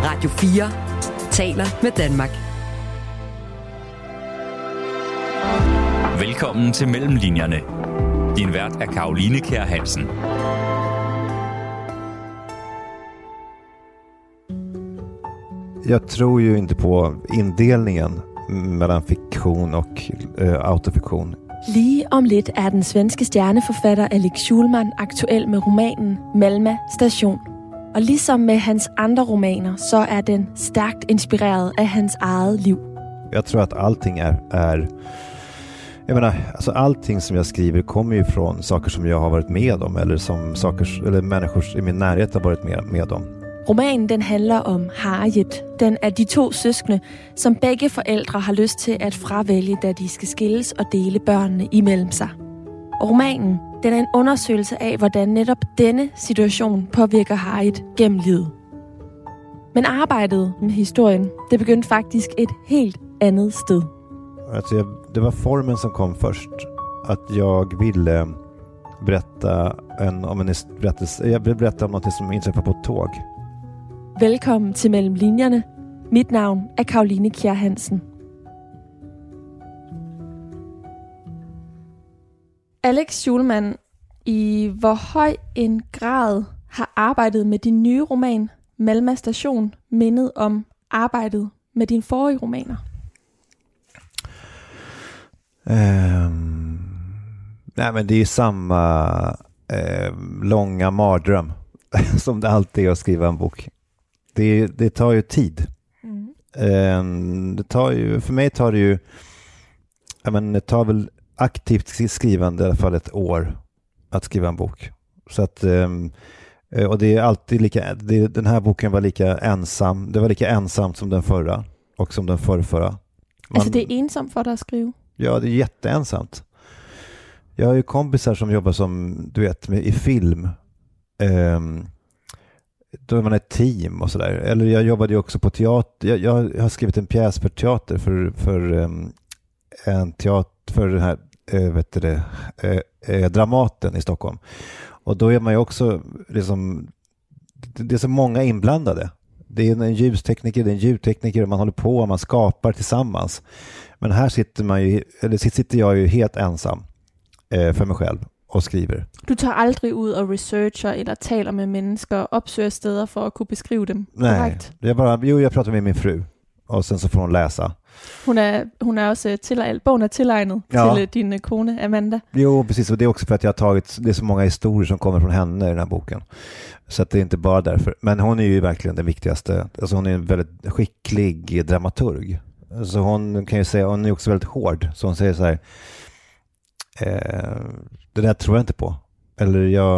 Radio 4 taler med Danmark. Velkommen til Mellemlinjerne. Din vært er Caroline Kjær Hansen. Jag tror ju inte på indelningen mellan fiktion och autofiktion. Lige om lidt er den svenske stjerneforfatter Alex Schulman aktuel med romanen Malmö station. Og ligesom med hans andre romaner, så er den stærkt inspireret af hans eget liv. Jag tror att allting är jag menar, alltså allting som jag skriver kommer ju från saker som jag har varit med om eller som saker eller människor i min närhet har varit med om. Romanen den handler om Harriet, den af de to søskende, som begge forældre har lyst til at fravælge, da de skal skilles og dele børnene imellem sig. Og romanen den er en undersøgelse af, hvordan netop denne situation påvirker Harriet gennem livet. Men arbejdet med historien, det begyndte faktisk et helt andet sted. Alltså det var formen som kom först. Att jag ville berätta om en berättelse. Jag ville berätta om något som inträffade på ett tåg. Velkommen til Mellem Linjerne. Mit navn er Caroline Kjær Hansen. Alex Schulman, i hvor høj en grad har arbejdet med din nye roman, Malmö station, mindet om arbejdet med dine forrige romaner? Nej, men det är samma långa mardröm som det alltid är att skriva en bok. Det tar ju tid. Det tar ju, för mig tar det ju, det tar väl aktivt skrivande i alla fall ett år att skriva en bok. Så att och det är alltid lika, den här boken var lika ensam. Det var lika ensamt som den förra och som den förrförra. Alltså det är ensamt för dig att skriva? Ja, det är jätteensamt. Jag har ju kompisar som jobbar som, du vet, i film. Då är man ett team och sådär. Eller jag jobbade ju också på teater. Jag har skrivit en pjäs för teater för en teater för den här Dramaten i Stockholm. Och då är man ju också liksom, det är så många inblandade. Det är en ljustekniker, det är en ljudtekniker och man håller på och man skapar tillsammans. Men här sitter jag ju helt ensam för mig själv och skriver. Du tar aldrig ud og researcher eller taler med mennesker, opsøger steder for at kunne beskrive dem? Nej, korrekt? Jag pratar med min fru och sen så får hon läsa. Hun er også bogen er tilegnet till din kone Amanda. Jo, precis, och det är också för att det är så många historier som kommer från henne i den här boken. Så att det är inte bara därför. Men hon är ju verkligen den viktigaste. Alltså hon är en väldigt skicklig dramaturg. Så hon kan ju säga, hon är också väldigt hård. Så hon säger så här, det där tror jag inte på. Eller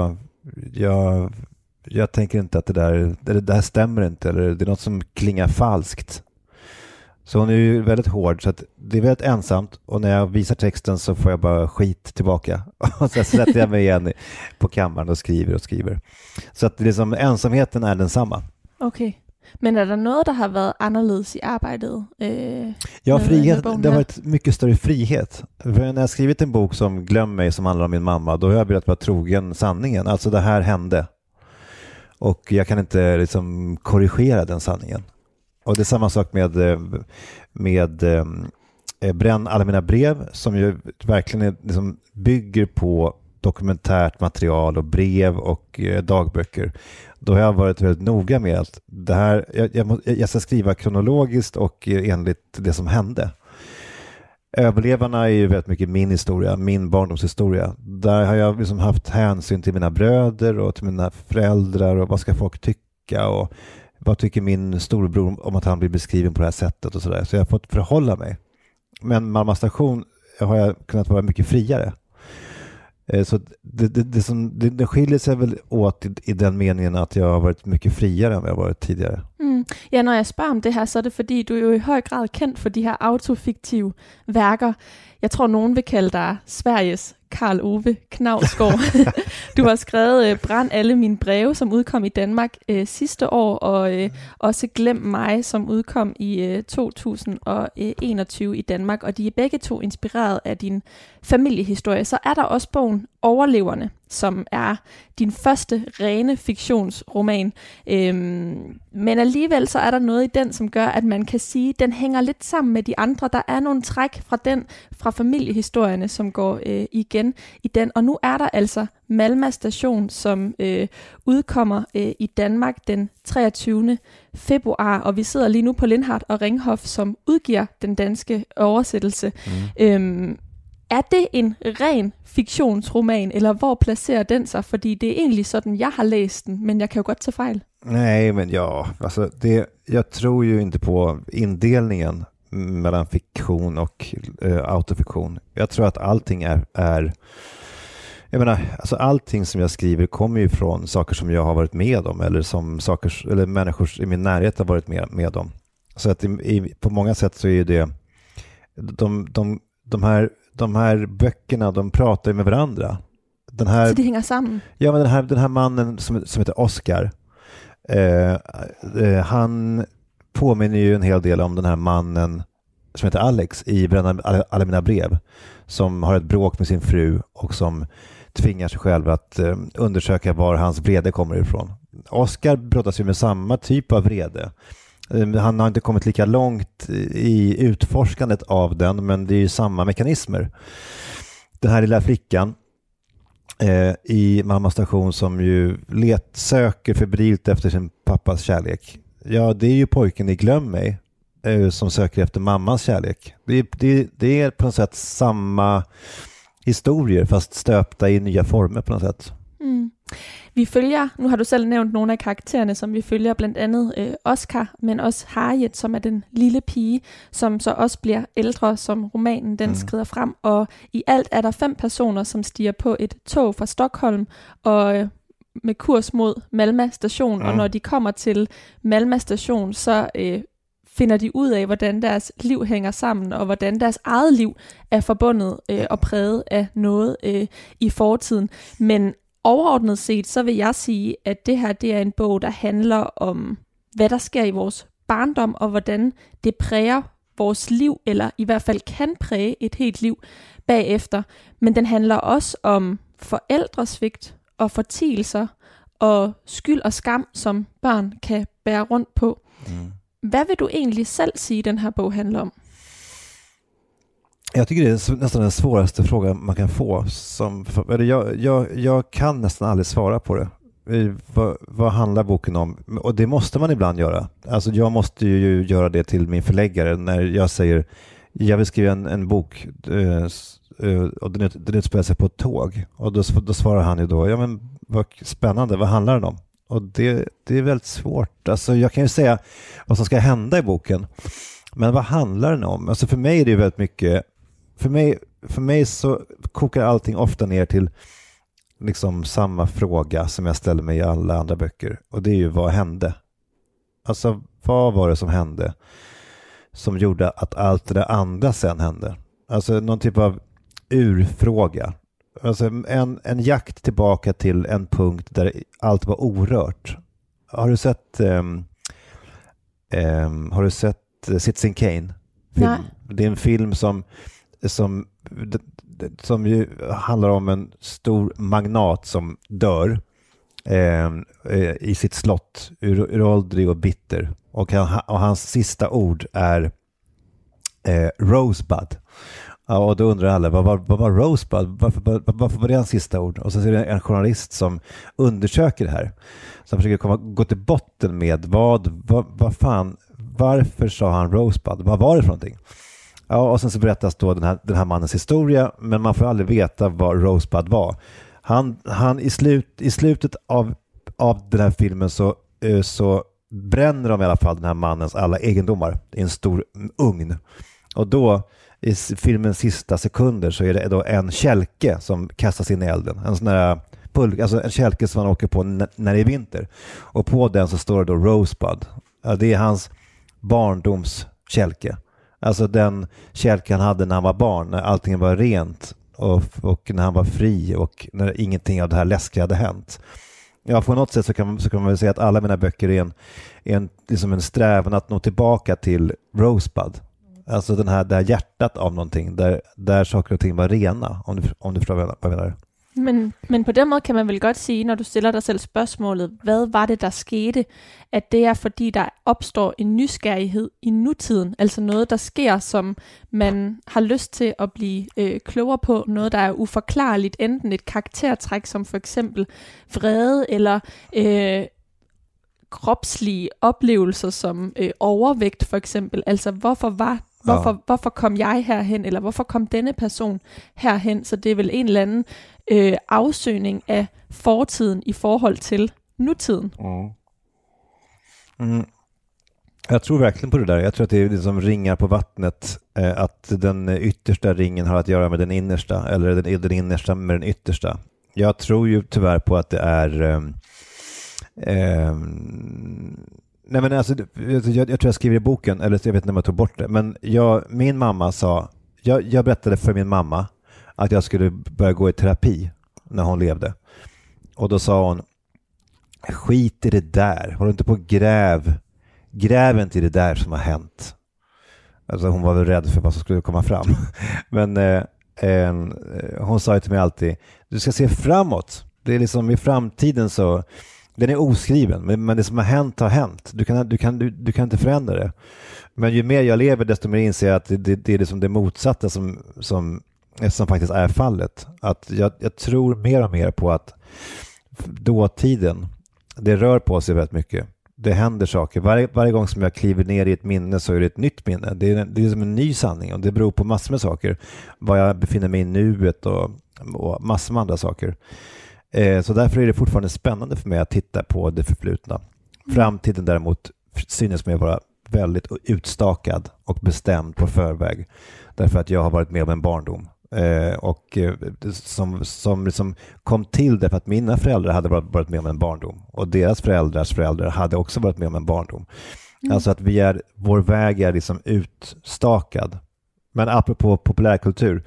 jag tänker inte att det där stämmer inte. Eller det är något som klingar falskt. Så hon är ju väldigt hård, så att det är väldigt ensamt. Och när jag visar texten så får jag bara skit tillbaka. Och så sätter jag mig igen på kammaren och skriver. Så att liksom, ensamheten är densamma. Okej. Men är det något som har varit annorlunda i arbetet? Ja, frihet. Det har varit mycket större frihet. För när jag har skrivit en bok som Glöm mig, som handlar om min mamma, då har jag velat vara trogen sanningen. Alltså det här hände. Och jag kan inte liksom korrigera den sanningen. Och det är samma sak med Bränn alla mina brev, som ju verkligen liksom bygger på dokumentärt material och brev och dagböcker. Då har jag varit väldigt noga med att det här, jag ska skriva kronologiskt och enligt det som hände. Överlevarna är ju väldigt mycket min historia, min barndomshistoria. Där har jag liksom haft hänsyn till mina bröder och till mina föräldrar och vad ska folk tycka och vad tycker min storbror om att han blir beskriven på det här sättet och sådär. Så jag har fått förhålla mig. Men Malmö station har jag kunnat vara mycket friare. Så det skiljer sig väl åt i den meningen att jag har varit mycket friare än vad jag varit tidigare. Ja, når jeg spørger om det her, så er det fordi, du er jo i høj grad kendt for de her autofiktive værker. Jeg tror, nogen vil kalde dig Sveriges Karl Ove Knausgård. Du har skrevet Brænd alle mine breve, som udkom i Danmark sidste år, og også Glem mig, som udkom i 2021 i Danmark. Og de er begge to inspireret af din familiehistorie. Så er der også bogen Overleverne, som er din første rene fiktionsroman. Men alligevel så er der noget i den, som gør, at man kan sige, at den hænger lidt sammen med de andre. Der er nogle træk fra familiehistorierne, som går igen i den. Og nu er der altså Malma Station, som udkommer i Danmark den 23. februar. Og vi sidder lige nu på Lindhardt og Ringhof, som udgiver den danske oversættelse. Er det en ren fiktionsroman, eller hvor placerer den sig? Fordi det er egentlig sådan, jeg har læst den, men jeg kan jo godt tage fejl. Nej, men alltså jag tror ju inte på indelningen mellan fiktion och autofiktion. Jag tror att allting är jag menar, alltså allting som jag skriver kommer ju från saker som jag har varit med om, eller som saker eller människor i min närhet har varit med om. Så att på många sätt så är ju det de här böckerna, de pratar ju med varandra. Så det hänger samman? Ja, men den här mannen som heter Oscar, han påminner ju en hel del om den här mannen som heter Alex i Bränna alla mina brev, som har ett bråk med sin fru och som tvingar sig själv att undersöka var hans vrede kommer ifrån. Oscar brottas ju med samma typ av vrede. Han har inte kommit lika långt i utforskandet av den, men det är ju samma mekanismer. Den här lilla flickan i Malma Station som ju söker febrilt efter sin pappas kärlek. Ja, det är ju pojken i Glöm mig som söker efter mammas kärlek. Det är på något sätt samma historier fast stöpta i nya former på något sätt. Vi følger, nu har du selv nævnt nogle af karaktererne, som vi følger, blandt andet Oscar, men også Harriet, som er den lille pige, som så også bliver ældre, som romanen den skrider frem. Og i alt er der 5 personer, som stiger på et tog fra Stockholm og med kurs mod Malma Station. Og når de kommer til Malma Station, så finder de ud af, hvordan deres liv hænger sammen, og hvordan deres eget liv er forbundet og præget af noget i fortiden. Men overordnet set, så vil jeg sige, at det her det er en bog, der handler om, hvad der sker i vores barndom, og hvordan det præger vores liv, eller i hvert fald kan præge et helt liv bagefter. Men den handler også om forældresvigt og fortielser og skyld og skam, som børn kan bære rundt på. Vad vill du egentlig selv sige, den här bok handlar om? Jag tycker det är nästan den svåraste frågan man kan få. Jag kan nästan aldrig svara på det. Vad handlar boken om? Och det måste man ibland göra. Alltså jag måste ju göra det till min förläggare när jag säger jag vill skriva en bok och den utspelar sig på ett tåg. Och då svarar han ju då, ja men vad spännande, vad handlar den om? Och det är väldigt svårt. Alltså jag kan ju säga vad som ska hända i boken. Men vad handlar den om? Alltså för mig är det väldigt mycket. För mig så kokar allting ofta ner till liksom samma fråga som jag ställer mig i alla andra böcker. Och det är ju vad hände? Alltså vad var det som hände som gjorde att allt det där andra sen hände? Alltså någon typ av urfråga. Alltså en jakt tillbaka till en punkt där allt var orört. Har du sett Citizen Kane? Nej. Det är en film som ju handlar om en stor magnat som dör i sitt slott, uråldrig och bitter. Och hans sista ord är Rosebud. Ja, och då undrar alla, vad var Rosebud? Varför var det hans sista ord? Och så är det en journalist som undersöker det här. Som försöker gå till botten med varför sa han Rosebud? Vad var det för någonting? Ja, och sen så berättas då den här mannens historia, men man får aldrig veta vad Rosebud var. Han i slutet av den här filmen så bränner de i alla fall den här mannens alla egendomar i en stor ugn. Och då i filmens sista sekunder så är det då en kälke som kastas in i elden. En sån där alltså en kälke som man åker på när det är vinter. Och på den så står det då Rosebud. Ja, det är hans barndoms kälke. Alltså den kälke han hade när han var barn, när allting var rent och när han var fri och när ingenting av det här läskiga hade hänt. Ja, på något sätt så kan man väl säga att alla mina böcker är liksom en strävan att nå tillbaka till Rosebud. Alltså det här hjärtat av någonting där saker och ting var rena, om du förstår vad jag menar. Men på den måde kan man vel godt sige, når du stiller dig selv spørgsmålet, hvad var det, der skete, at det er fordi, der opstår en nysgerrighed i nutiden, altså noget, der sker, som man har lyst til at blive klogere på, noget, der er uforklarligt, enten et karaktertræk, som for eksempel vrede, eller kropslige oplevelser, som overvægt for eksempel, altså hvorfor kom jeg herhen, eller hvorfor kom denne person herhen, så det er vel en eller anden afsøgning af fortiden i forhold til nutiden. Jag tror verkligen på det där. Jag tror att det är liksom ringar på vattnet, att den yttersta ringen har att göra med den innersta, eller den innersta med den yttersta. Jag tror ju tyvärr på att det är nej men alltså, jag tror jag skriver i boken, eller jag vet inte om jag tog bort det, men min mamma sa, jag berättade för min mamma att jag skulle börja gå i terapi när hon levde. Och då sa hon, skit i det där, håll inte på gräv inte i det där som har hänt. Alltså hon var väl rädd för vad som skulle komma fram. Men hon sa ju till mig alltid, du ska se framåt. Det är liksom i framtiden så, den är oskriven, men det som har hänt. Du kan inte förändra det. Men ju mer jag lever, desto mer inser jag att det är liksom det motsatta som faktiskt är fallet. Att jag tror mer och mer på att dåtiden, det rör på sig väldigt mycket. Det händer saker. Varje gång som jag kliver ner i ett minne så är det ett nytt minne. Det är som en ny sanning, och det beror på massor med saker. Var jag befinner mig i nuet och massor med andra saker. Så därför är det fortfarande spännande för mig att titta på det förflutna. Framtiden däremot synes mig vara väldigt utstakad och bestämd på förväg. Därför att jag har varit med om en barndom. Som liksom kom till därför att mina föräldrar hade varit med om en barndom. Och deras föräldrars föräldrar hade också varit med om en barndom. Alltså att vår väg är liksom utstakad. Men apropå populärkultur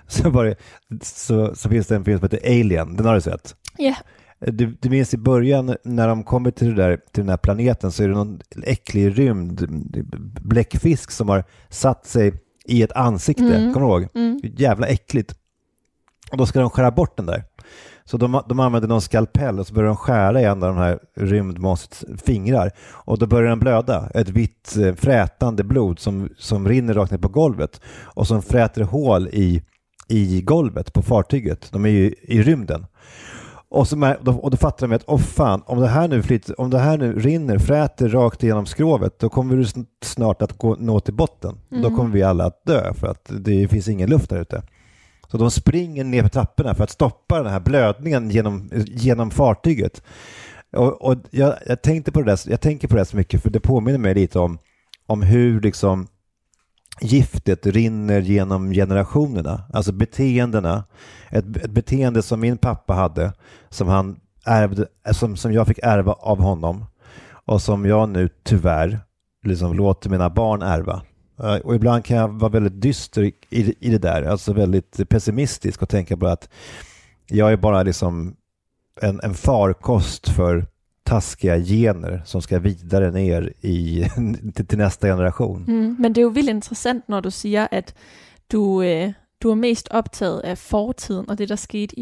så finns det en film som heter Alien. Den har du sett? Ja. Yeah. Du minns i början när de kommer till den här planeten, så är det någon äcklig rymd bläckfisk som har satt sig i ett ansikte. Kommer du ihåg? Jävla äckligt. Och då ska de skära bort den där. Så de använder någon skalpell och så börjar de skära i en av de här rymdmonstrets fingrar. Och då börjar den blöda. Ett vitt frätande blod som rinner rakt ner på golvet. Och som fräter hål i golvet på fartyget. De är ju i rymden. Och då fattar de att fan, om det här nu rinner, fräter rakt igenom skrovet, då kommer vi snart att nå till botten. Då kommer vi alla att dö, för att det finns ingen luft där ute. Så de springer ner för trapporna för att stoppa den här blödningen genom fartyget. Och jag tänkte på det där, jag tänker på det så mycket, för det påminner mig lite om hur liksom giftet rinner genom generationerna, alltså beteendena. Ett beteende som min pappa hade, som han ärvde, som jag fick ärva av honom, och som jag nu tyvärr liksom låter mina barn ärva. Och ibland kan jag vara väldigt dyster i det där, alltså väldigt pessimistisk, och tänka på att jag är bara liksom en farkost för taskiga gener som ska vidare ner till nästa generation. Men det är ju väldigt intressant när du säger att du är mest optaget af fortiden og det, der skete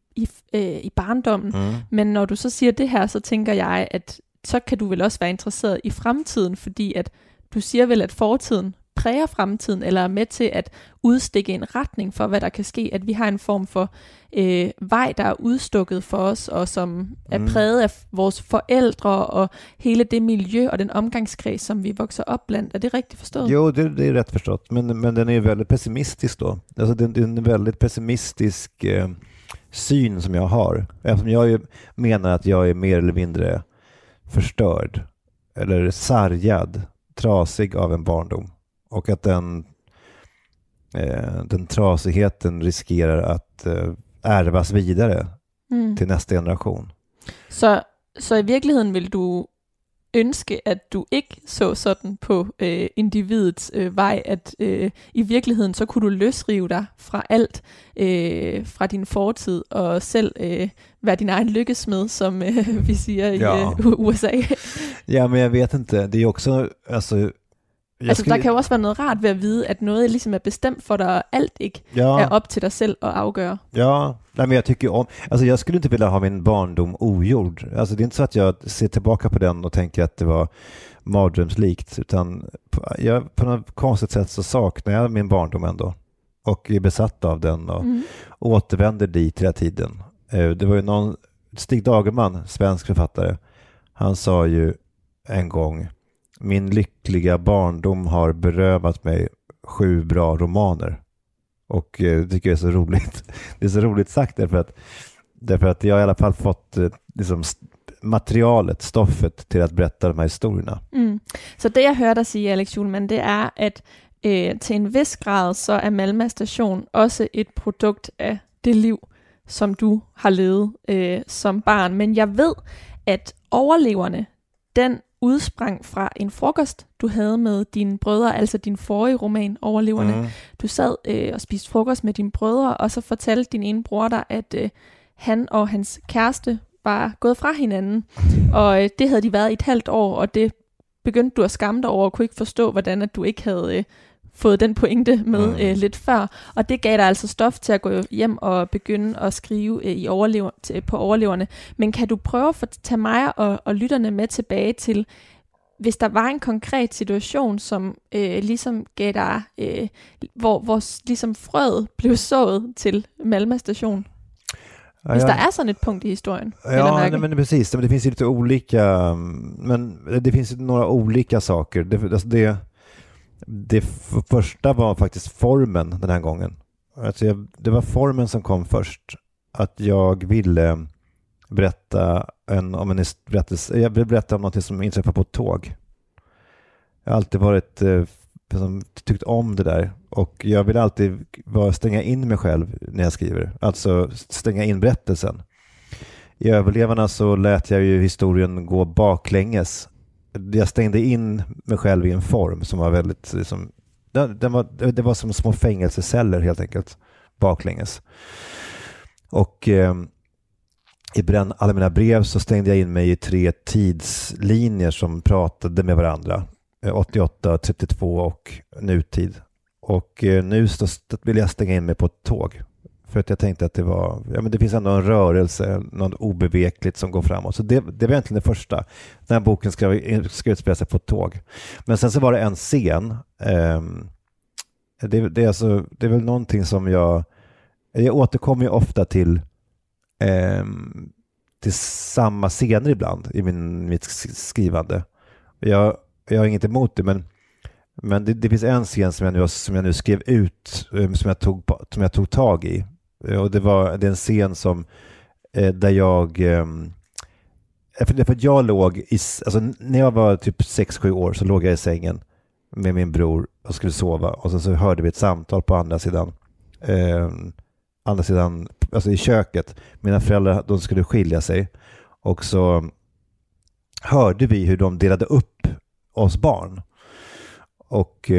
i barndommen. Men når du så siger det her, så tænker jeg, at så kan du vel også være interesseret i fremtiden, fordi at du siger vel, at fortiden præger fremtiden, eller er med til at udstikke en retning for, hvad der kan ske, at vi har en form for vej, der er udstukket for os, og som er præget af vores forældre, og hele det miljø og den omgangskreds, som vi vokser op blandt. Er det rigtigt forstået? Jo, det är rätt förstått, men den är väldigt pessimistisk då. Alltså det är en väldigt pessimistisk syn som jag har. Eftersom jag menar att jag är mer eller mindre förstörd, eller sargad, trasig av en barndom. Och att den trasigheten riskerar att ärvas vidare till nästa generation. Så i virkeligheden vil du ønske, at du ikke så sådan på individets vej, at i virkeligheden så kunne du løsrive dig fra alt, fra din fortid, og selv være din egen lykkesmed, som vi siger i USA. Ja, men jag vet inte. Det är också, alltså, Der kan jo også være noget rart ved at vide, at noget ligesom er bestemt for dig, og alt ikke er op til dig selv at afgøre. Ja, men jag tycker om... Alltså jag skulle inte vilja ha min barndom ogjord. Alltså det är inte så att jag ser tillbaka på den och tänker att det var mardrömslikt, utan på något konstigt sätt så saknar jag min barndom ändå. Och är besatt av den och återvänder dit hela tiden. Det var ju någon... Stig Dagerman, svensk författare, han sa ju en gång: min lyckliga barndom har berövat mig 7 bra romaner. Och det tycker jag är så roligt. Det är så roligt sagt därför att jag i alla fall fått liksom materialet, stoffet till att berätta de här historierna. Så det jag hørte dig sige, Alex Schulman, det er, at til en vis grad, så er Malmö Station også et produkt af det liv, som du har levet som barn. Men jeg ved, at overleverne, den udsprang fra en frokost, du havde med dine brødre, altså din forrige roman, Overleverne. Du sad og spiste frokost med dine brødre, og så fortalte din ene bror dig, at han og hans kæreste var gået fra hinanden, og det havde de været i et halvt år, og det begyndte du at skamme dig over, og kunne ikke forstå, hvordan at du ikke havde fået den pointe med lidt før, og det gav dig altså stof til at gå hjem og begynde at skrive på Overleverne. Men kan du prøve at tage mig og lytterne med tilbage til, hvis der var en konkret situation, som ligesom gav dig, hvor ligesom frøet blev sået til Malmö Station? Hvis der är sådan ett punkt i historien. Ja, men precis. Men det finns ju lite olika, men det finns ju några olika saker. Det första var faktiskt formen den här gången. Alltså det var formen som kom först. Att jag ville berätta om en berättelse. Jag ville berätta om något som inträffade på ett tåg. Jag har alltid varit tyckt om det där, och jag vill alltid stänga in mig själv när jag skriver, alltså stänga in berättelsen. I Överlevarna så lät jag ju historien gå baklänges. Jag stängde in mig själv i en form som var väldigt liksom, det var som små fängelseceller helt enkelt, baklänges. Och i alla mina brev så stängde jag in mig i 3 tidslinjer som pratade med varandra. 88, 32 och nutid. Och nu vill jag stänga in mig på ett tåg. För att jag tänkte att det finns ändå en rörelse, något obevekligt som går framåt. Så det var egentligen det första. Den här boken ska utspela sig på ett tåg. Men sen så var det en scen. Det är väl någonting som jag återkommer ju ofta till samma scener ibland i mitt skrivande. Jag har inget emot det, men det finns en scen som jag nu skrev ut, som jag tog tag i, och det är en scen som där jag för att jag låg alltså när jag var typ 6-7 år så låg jag i sängen med min bror och skulle sova, och så hörde vi ett samtal på andra sidan alltså i köket. Mina föräldrar, de skulle skilja sig, och så hörde vi hur de delade upp oss barn. Och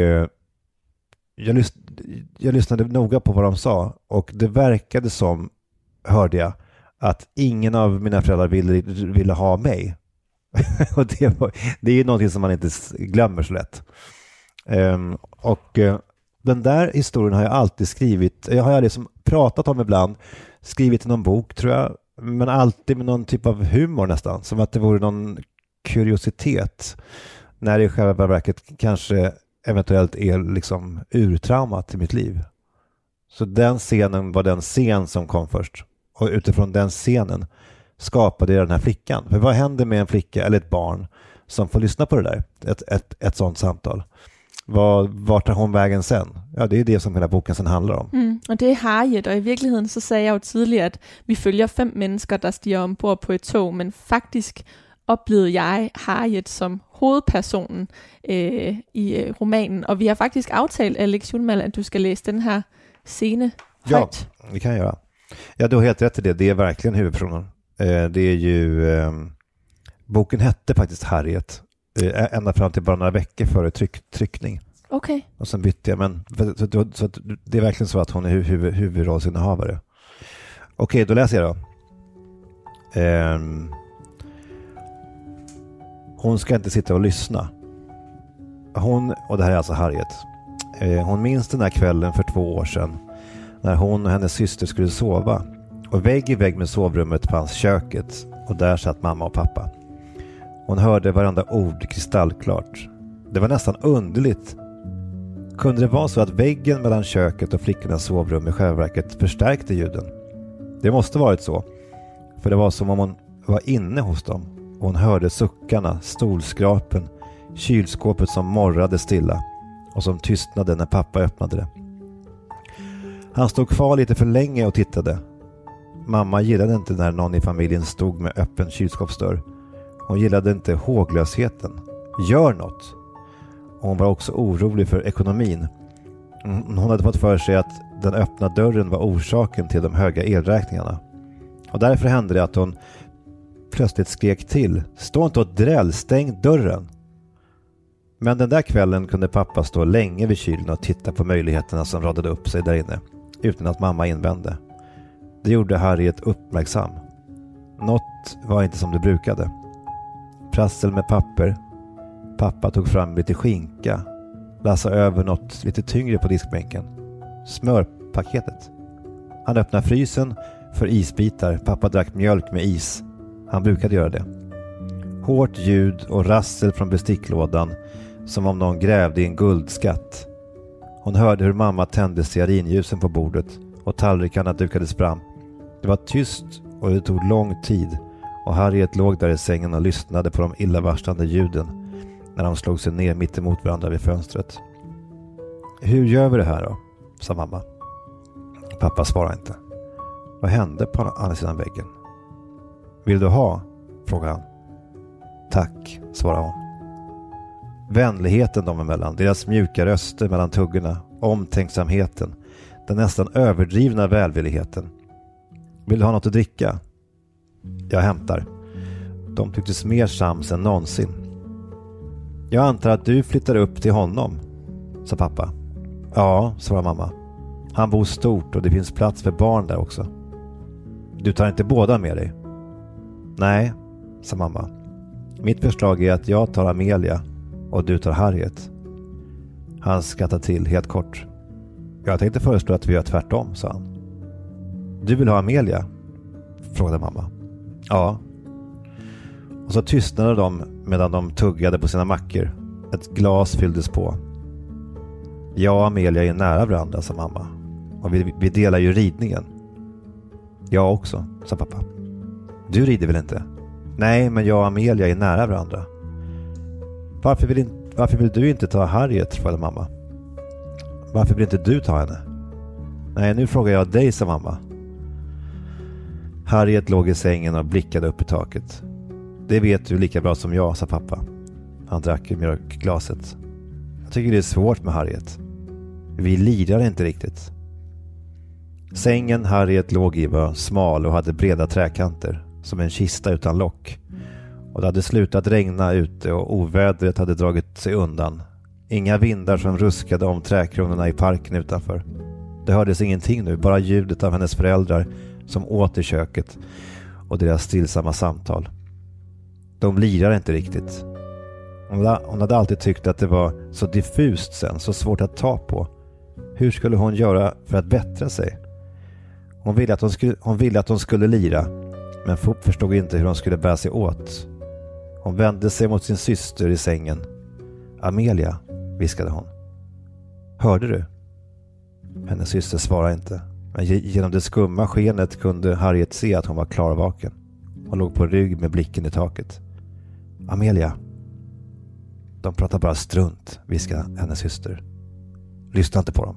jag lyssnade noga på vad de sa, och det verkade som, hörde jag, att ingen av mina föräldrar ville ha mig. Och det är ju någonting som man inte glömmer så lätt. Den där historien har jag alltid skrivit. Jag har liksom pratat om ibland, skrivit i någon bok tror jag, men alltid med någon typ av humor nästan, som att det vore någon kuriositet, när det i själva verket kanske eventuellt är liksom urtraumat i mitt liv. Så den scenen var den scen som kom först, och utifrån den scenen skapade jag den här flickan. För vad händer med en flicka eller ett barn som får lyssna på det där, ett sånt samtal? Vart tar hon vägen sen? Ja, det är det som hela boken sen handlar om. Og det er Harriet, og i virkeligheden så sagde jeg jo tidligere, at vi følger 5 mennesker, der stiger ombord på et tog, men faktisk oplevede jeg Harriet som hovedpersonen i romanen, og vi har faktisk aftalt, Alex Schulman, at du skal læse den her scene højt. Ja, det kan jag göra. Ja, du har helt rätt i det. Det är verkligen huvudpersonen. Det är ju... boken hette faktiskt Harriet. Ända fram till bara några veckor före tryckning. Okej. Och sen bytte jag, men så det är verkligen så att hon är huvudrollsinnehavare. Okej, då läser jag då. Hon ska inte sitta och lyssna. Och det här är alltså Harriet. Hon minns den här kvällen för 2 år sedan när hon och hennes syster skulle sova. Och vägg i vägg med sovrummet fanns köket och där satt mamma och pappa. Hon hörde varandra ord kristallklart. Det var nästan underligt. Kunde det vara så att väggen mellan köket och flickornas sovrum i själva verket förstärkte ljuden? Det måste varit så. För det var som om hon var inne hos dem. Och hon hörde suckarna, stolskrapen, kylskåpet som morrade stilla och som tystnade när pappa öppnade det. Han stod kvar lite för länge och tittade. Mamma gillade inte när någon i familjen stod med öppen kylskåpsdörr. Hon gillade inte håglösheten. Gör något! Och hon var också orolig för ekonomin. Hon hade fått för sig att den öppna dörren var orsaken till de höga elräkningarna. Och därför hände det att hon plötsligt skrek till. Stå inte och dräll, stäng dörren! Men den där kvällen kunde pappa stå länge vid kylen och titta på möjligheterna som radade upp sig där inne, utan att mamma invände. Det gjorde Harriet uppmärksam. Något var inte som det brukade. Prassel med papper. Pappa tog fram lite skinka. Lassade över något lite tyngre på diskbänken. Smörpaketet. Han öppnade frysen för isbitar. Pappa drack mjölk med is. Han brukade göra det. Hårt ljud och rassel från besticklådan, som om någon grävde i en guldskatt. Hon hörde hur mamma tände stearinljusen på bordet och tallrikarna dukades fram. Det var tyst och det tog lång tid, och Harriet låg där i sängen och lyssnade på de illavarslande ljuden när de slog sig ner mitt emot varandra vid fönstret. Hur gör vi det här då? Sa mamma. Pappa svarade inte. Vad hände på andra sidan väggen? Vill du ha? Frågade han. Tack, svarade hon. Vänligheten dem emellan, deras mjuka röster mellan tuggorna, omtänksamheten, den nästan överdrivna välvilligheten. Vill du ha något att dricka? Jag hämtar. De tycktes mer sams än någonsin. Jag antar att du flyttar upp till honom, sa pappa. Ja, svarade mamma. Han bor stort och det finns plats för barn där också. Du tar inte båda med dig? Nej, sa mamma. Mitt förslag är att jag tar Amelia och du tar Harriet. Han skrattade till helt kort. Jag tänkte föreslå att vi gör tvärtom, sa han. Du vill ha Amelia? Frågade mamma. Ja. Och så tystnade de medan de tuggade på sina mackor. Ett glas fylldes på. Jag och Amelia är nära varandra, sa mamma. Och vi delar ju ridningen. Jag också, sa pappa. Du rider väl inte? Nej, men jag och Amelia är nära varandra. Varför vill du inte ta Harriet, frågade mamma. Varför vill inte du ta henne? Nej, nu frågar jag dig, sa mamma. Harriet låg i sängen och blickade upp i taket. Det vet du lika bra som jag, sa pappa. Han drack i mjölkglaset. Jag tycker det är svårt med Harriet. Vi lirar inte riktigt. Sängen Harriet låg i var smal och hade breda träkanter, som en kista utan lock. Och det hade slutat regna ute och ovädret hade dragit sig undan. Inga vindar som ruskade om träkronorna i parken utanför. Det hördes ingenting nu, bara ljudet av hennes föräldrar som åt i köket och deras stillsamma samtal. De lirar inte riktigt. Hon hade alltid tyckt att det var så diffust sen, så svårt att ta på. Hur skulle hon göra för att bättra sig? Hon ville att hon skulle lira, men förstod inte hur hon skulle bära sig åt. Hon vände sig mot sin syster i sängen. Amelia, viskade hon. Hörde du? Hennes syster svarade inte. Men genom det skumma skenet kunde Harriet se att hon var klarvaken. Hon låg på rygg med blicken i taket. Amelia. De pratar bara strunt, viskade hennes syster. Lyssna inte på dem.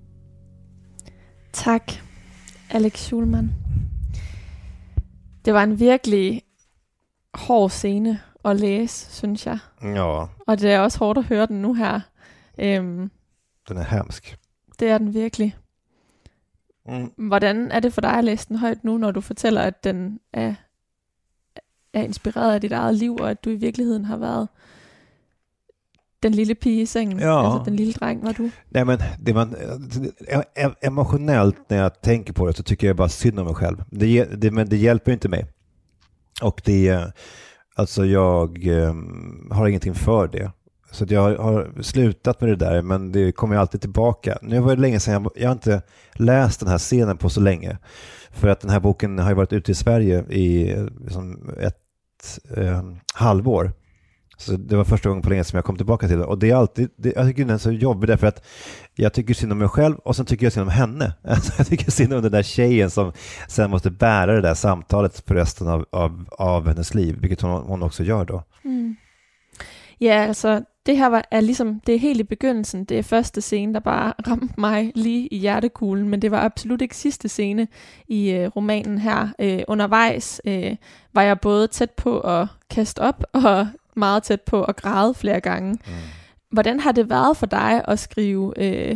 Tack, Alex Schulman. Det var en virkelig hård scene at læse, synes jeg. Ja. Og det er også hårdt at høre den nu her. Den er hemsk. Det er den virkelig. Hvordan er det for dig at læse den højt nu, når du fortæller, at den er inspireret af dit eget liv, og at du i virkeligheden har været den lille pige i sengen, alltså den lille dreng, var du? Nej, men emotionellt när jag tänker på det så tycker jag bara synd om mig själv. Men det hjälper inte mig. Och alltså jag har ingenting för det. Så att jag har slutat med det där, men det kommer ju alltid tillbaka. Nu var det länge sedan, jag har inte läst den här scenen på så länge. För att den här boken har ju varit ute i Sverige i liksom ett halvår. Så det var första gången på länge som jag kom tillbaka till det. Och det är alltid, jag tycker den är så jobbig därför att jag tycker synd om mig själv och sen tycker jag synd om henne. Alltså jag tycker synd om den där tjejen som sen måste bära det där samtalet för resten av hennes liv, vilket hon också gör då. Mm. Ja, altså det her er ligesom, det er helt i begyndelsen, det er første scene, der bare ramte mig lige i hjertekuglen, men det var absolut ikke sidste scene i romanen her. Undervejs var jeg både tæt på at kaste op og meget tæt på at græde flere gange. Mm. Hvordan har det været for dig at skrive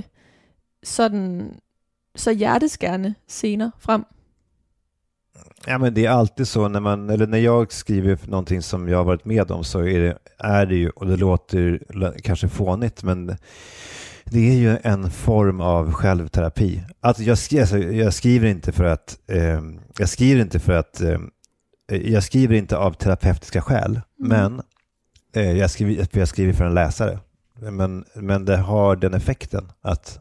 så hjerteskærende scener frem? Ja, men det är alltid så när jag skriver någonting som jag har varit med om, så är det ju, och det låter kanske fånigt, men det är ju en form av självterapi. Alltså jag skriver inte av terapeutiska skäl, men jag skriver för en läsare. Men det har den effekten att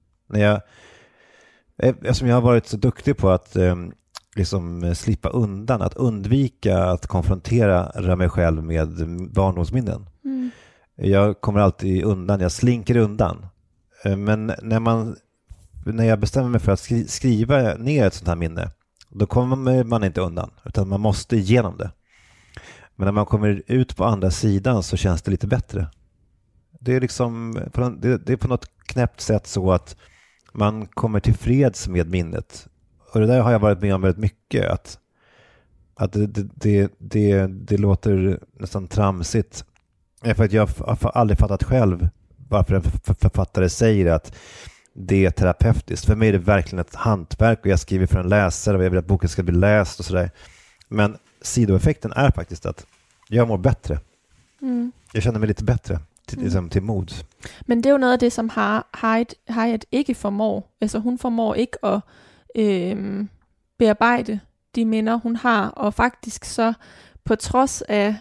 eftersom jag har varit så duktig på att liksom slippa undan, att undvika att konfrontera mig själv med barndomsminnen. Jag kommer alltid undan, jag slinker undan. Men när jag bestämmer mig för att skriva ner ett sånt här minne, då kommer man inte undan, utan man måste igenom det. Men när man kommer ut på andra sidan så känns det lite bättre. Det är liksom det är på något knäppt sätt så att man kommer till freds med minnet. Och det där har jag varit med om väldigt mycket, att det låter nästan tramsigt. För att jag har aldrig fattat själv varför en författare säger att det är terapeutiskt. För mig är det verkligen ett hantverk och jag skriver för en läsare och jag vill att boken ska bli läst och sådär. Men sidoeffekten är faktiskt att jag mår bättre. Jag känner mig lite bättre till mod. Men det er jo noget af det, som Harriet ikke formår. Altså hun formår ikke at bearbejde de minder, hun har, og faktisk så på trods af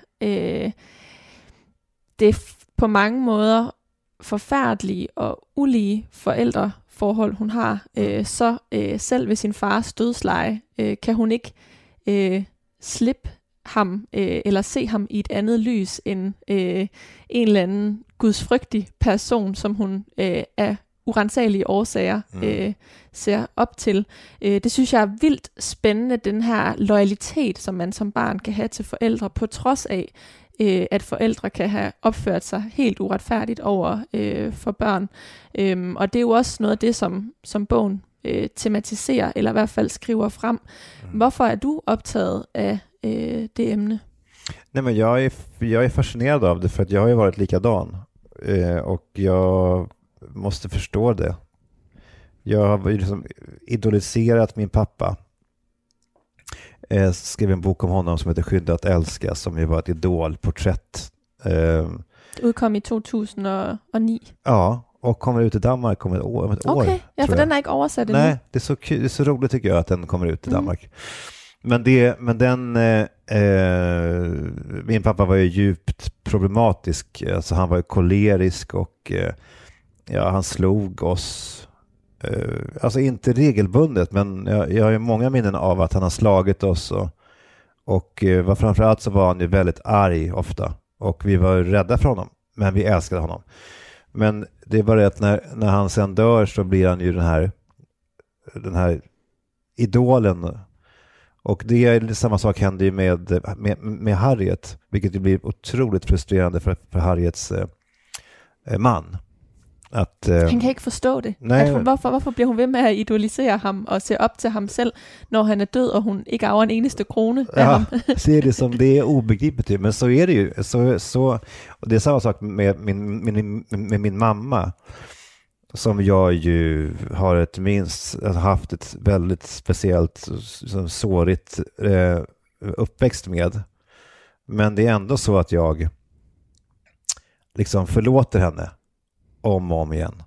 det på mange måder forfærdelige og ulige forældreforhold, hun har, så selv ved sin fars dødsleje, kan hun ikke slippe ham, eller se ham i et andet lys end en eller anden gudsfrygtig person, som hun af urensagelige årsager ser op til. Det synes jeg er vildt spændende, den her loyalitet, som man som barn kan have til forældre, på trods af, at forældre kan have opført sig helt uretfærdigt over for børn. Og det er jo også noget af det, som bogen tematiserer, eller i hvert fald skriver frem. Hvorfor er du optaget af det emne? Nej, men jag är fascinerad av det, för att jag har ju varit likadan. Och jag måste förstå det. Jag har liksom idoliserat min pappa. Jag skrev en bok om honom som heter Skydda att älska, som ju var ett idolporträtt. Det utkom i 2009. Ja, och kommer ut i Danmark om ett år. Okej, ja, för den är inte översatt ännu. Nej, det är så kul, det är så roligt tycker jag att den kommer ut i Danmark. Men min pappa var ju djupt problematisk. Alltså han var ju kolerisk och han slog oss. Alltså inte regelbundet, men jag har ju många minnen av att han har slagit oss och framförallt så var han ju väldigt arg ofta och vi var rädda för honom, men vi älskade honom. Men det är bara att när han sen dör så blir han ju den här idolen. Och det är samma sak händer ju med Harriet, vilket ju blir otroligt frustrerande för Harriets man. Han kan ikke forstå det. Hvorfor bliver hun ved med at idolisere ham og se op til ham selv, når han er død, og hun ikke arver en eneste krone af ham? Ser det som det är obegripligt, men så är det ju. Så, och det är samma sak med min mamma, som jag ju har haft ett väldigt speciellt sårigt uppväxt med. Men det är ändå så att jag liksom förlåter henne om och om igen.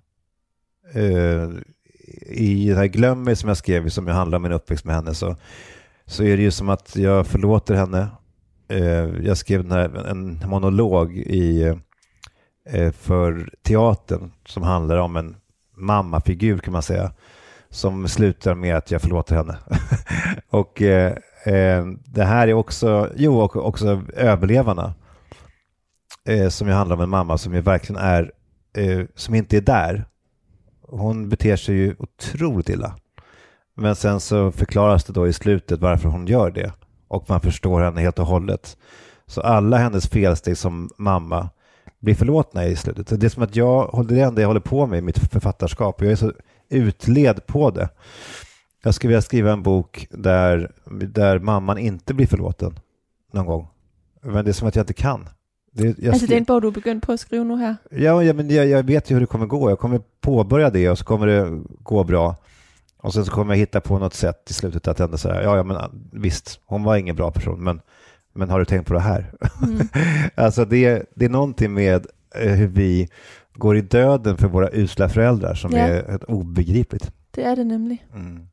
I den här Glöm mig som jag skrev, som jag handlar om min uppväxt med henne, så är det ju som att jag förlåter henne. Jag skrev en monolog för teatern som handlar om en mammafigur kan man säga, som slutar med att jag förlåter henne. Och det här är också, också Överlevarna, som ju handlar om en mamma som ju verkligen är, som inte är där. Hon beter sig ju otroligt illa. Men sen så förklaras det då i slutet varför hon gör det. Och man förstår henne helt och hållet. Så alla hennes felsteg som mamma blir förlåtna i slutet. Det är som att det är det jag håller på med i mitt författarskap. Jag är så utled på det. Jag skulle vilja skriva en bok där mamman inte blir förlåten någon gång. Men det är som att jag inte kan. Det är en bok du har begyndt på att skriva nu här? Ja, men jag vet ju hur det kommer gå. Jag kommer påbörja det och så kommer det gå bra. Och sen så kommer jag hitta på något sätt i slutet att ändå säga, ja men visst, hon var ingen bra person, men har du tänkt på det här? Mm. Alltså det är någonting med hur vi går i döden för våra usla föräldrar som är helt obegripligt. Det är det nämligen. Mm.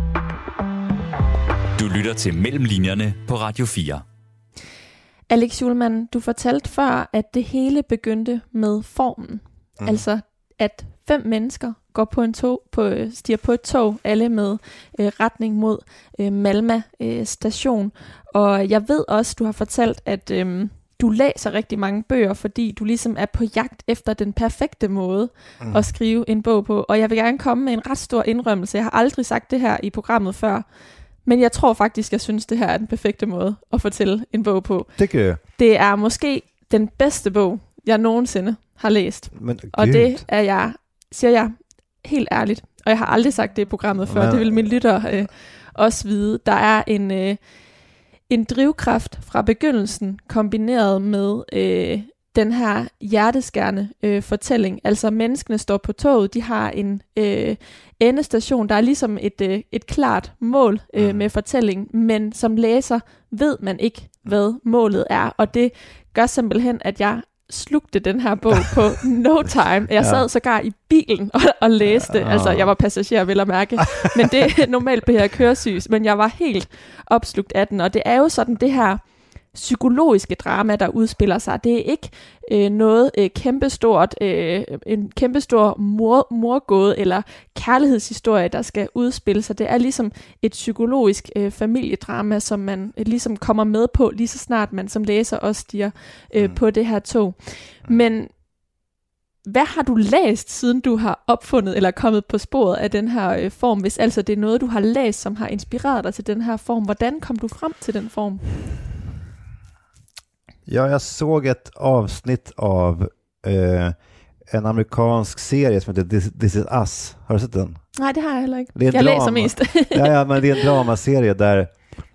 Du lytter til Mellemlinjerne på Radio 4. Alex Schulman, du fortalte før, at det hele begyndte med formen. Mm. Altså, at 5 mennesker går stiger på et tog, alle med retning mod Malmö station. Og jeg ved også, du har fortalt, at du læser rigtig mange bøger, fordi du ligesom er på jagt efter den perfekte måde at skrive en bog på. Og jeg vil gerne komme med en ret stor indrømmelse. Jeg har aldrig sagt det her i programmet før, men jeg tror faktisk, jeg synes, det her er den perfekte måde at fortælle en bog på. Det er måske den bedste bog, jeg nogensinde har læst. Og det er jeg, siger jeg helt ærligt, og jeg har aldrig sagt det i programmet før, det vil mine lyttere også vide. Der er en drivkraft fra begyndelsen, kombineret med den her hjerteskærende fortælling. Altså menneskene står på toget, de har en endestation, der er ligesom et klart mål med fortælling, men som læser ved man ikke, hvad målet er, og det gør simpelthen, at jeg slugte den her bog på no time. Jeg sad sågar i bilen og læste. Altså, jeg var passager, vil jeg mærke. Men det normalt bliver jeg køresyg. Men jeg var helt opslugt af den. Og det er jo sådan det her psykologiske drama, der udspiller sig. Det er ikke noget kæmpestort, en kæmpestor morgåde eller kærlighedshistorie, der skal udspille sig. Det er ligesom et psykologisk familiedrama, som man ligesom kommer med på, lige så snart man som læser også stiger på det her tog. Men hvad har du læst, siden du har opfundet eller kommet på sporet af den her form, hvis altså det er noget, du har læst, som har inspireret dig til den her form? Hvordan kom du frem til den form? Ja, jag såg ett avsnitt av en amerikansk serie som heter This Is Us. Har du sett den? Nej, det har jag heller inte. Jag läser mest. ja, men det är en dramaserie där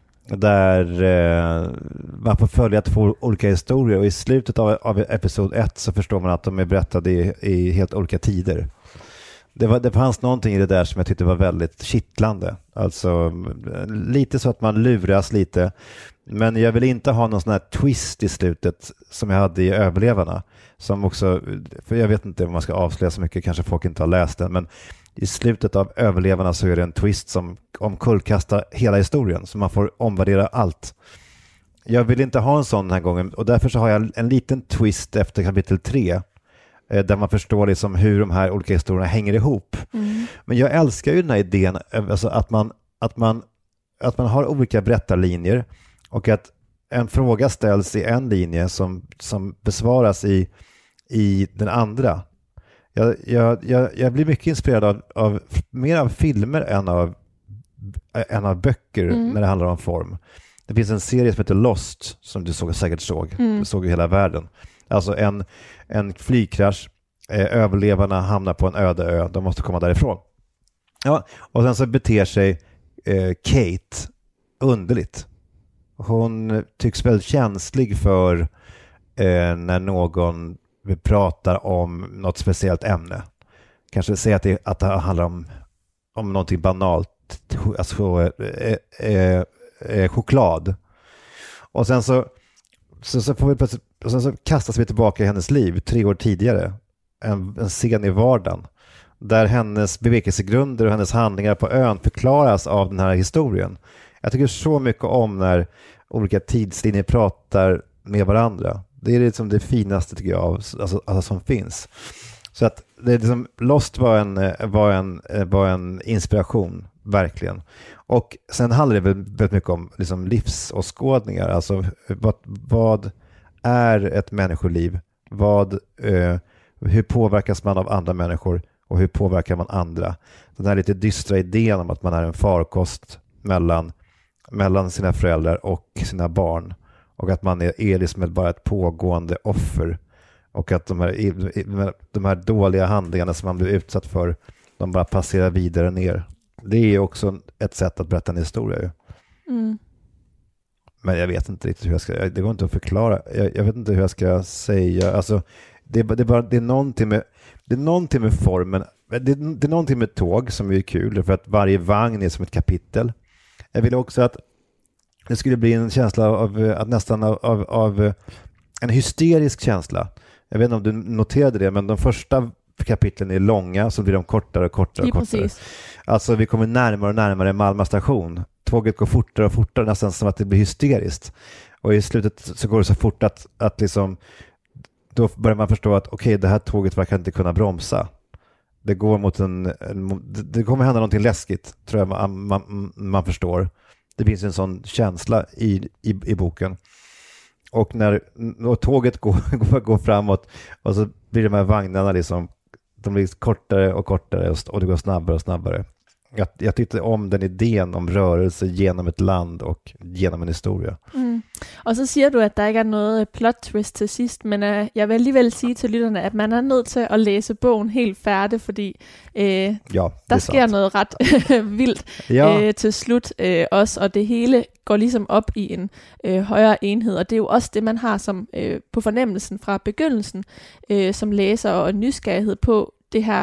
man får följa 2 olika historier, och i slutet av episod 1 så förstår man att de är berättade i helt olika tider. Det fanns någonting i det där som jag tyckte var väldigt kittlande. Alltså lite så att man luras lite. Men jag vill inte ha någon sån här twist i slutet som jag hade i Överlevarna. Som också, för jag vet inte om man ska avslöja så mycket, kanske folk inte har läst den. Men i slutet av Överlevarna så är det en twist som omkullkastar hela historien. Så man får omvärdera allt. Jag vill inte ha en sån den här gången. Och därför så har jag en liten twist efter kapitel 3. Där man förstår liksom hur de här olika historierna hänger ihop. Mm. Men jag älskar ju den här idén, alltså att man har olika berättarlinjer och att en fråga ställs i en linje som besvaras i den andra. Jag blir mycket inspirerad av mer av filmer än av böcker när det handlar om form. Det finns en serie som heter Lost som du säkert såg. Du såg i hela världen. Alltså en flygkrasch, överlevarna hamnar på en öde ö, de måste komma därifrån. Ja, och sen så beter sig Kate underligt. Hon tycks väldigt känslig för när någon pratar om något speciellt ämne. Kanske säga att det handlar om någonting banalt, alltså choklad. Och sen så får vi plötsligt, och sen så kastas vi tillbaka i hennes liv 3 år tidigare. En scen i vardagen. Där hennes bevekelsegrunder och hennes handlingar på ön förklaras av den här historien. Jag tycker så mycket om när olika tidslinjer pratar med varandra. Det är liksom det finaste tycker jag alltså som finns. Så att det är liksom, Lost var en inspiration, verkligen. Och sen handlar det väldigt mycket om liksom livsåskådningar. Alltså vad är ett människoliv? Hur påverkas man av andra människor och hur påverkar man andra? Den här lite dystra idén om att man är en farkost mellan sina föräldrar och sina barn. Och att man är liksom bara ett pågående offer. Och att de här dåliga handlingarna som man blir utsatt för, de bara passerar vidare ner. Det är också ett sätt att berätta en historia ju. Mm. Men jag vet inte riktigt hur jag ska, det går inte att förklara. Jag vet inte hur jag ska säga. Alltså, det är någonting med formen. Det är någonting med tåg som är kul, för att varje vagn är som ett kapitel. Jag vill också att det skulle bli en känsla av en hysterisk känsla. Jag vet inte om du noterade det, men de första kapitlen är långa, så blir de kortare och kortare och kortare. Alltså vi kommer närmare och närmare Malmö station. Tåget går fortare och fortare, nästan som att det blir hysteriskt. Och i slutet så går det så fort att liksom, då börjar man förstå att okej, det här tåget verkar inte kunna bromsa. Det går mot det kommer hända någonting läskigt, tror jag man förstår. Det finns en sån känsla i boken. Och när tåget går framåt, och så blir de här vagnarna liksom, de blir kortare och kortare och det går snabbare och snabbare. Jag tyckte om den idén om rörelse genom ett land och genom en historia. Mm. Og så siger du, at der ikke er noget plot twist til sidst, men jeg vil alligevel sige til lytterne, at man er nødt til at læse bogen helt færdig, fordi der sker noget ret vildt til slut også, og det hele går ligesom op i en højere enhed, og det er jo også det, man har som på fornemmelsen fra begyndelsen, som læser og nysgerrighed på det her